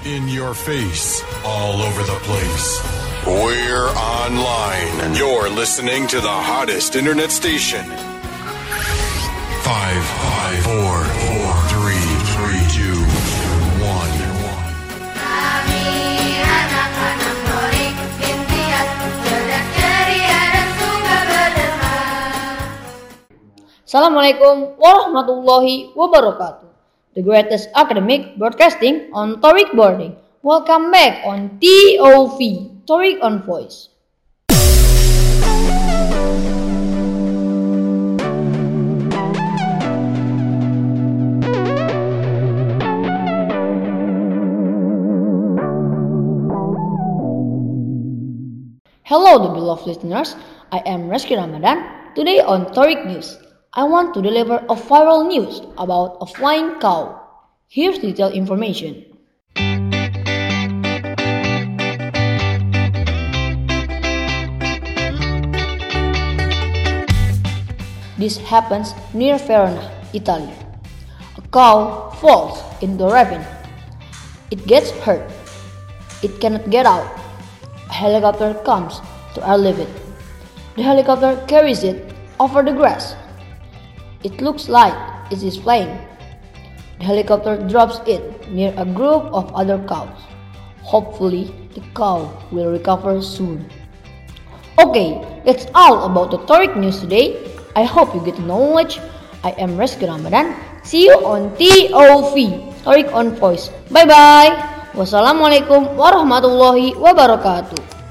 In your face, all over the place. We're online. You're listening to the hottest internet station. 5, 4, 3, 2, 1. Kami anak-anak Torik, impian, cerdas ceria dan suka berderma. Assalamualaikum warahmatullahi wabarakatuh. The greatest academic broadcasting on Torik Boarding. Welcome back on TOV, Torik on Voice. Hello, the beloved listeners. I am Reski Ramadan. Today on Torik News, I want to deliver a viral news about a flying cow. Here's detailed information. This happens near Verona, Italy. A cow falls into a ravine. It gets hurt. It cannot get out. A helicopter comes to relieve it. The helicopter carries it over the grass. It looks like it is flying. The helicopter drops it near a group of other cows. Hopefully, the cow will recover soon. Okay, that's all about the Torik news today. I hope you get knowledge. I am Reski Ramadan. See you on TOV, Torik on Voice. Bye bye. Wassalamualaikum warahmatullahi wabarakatuh.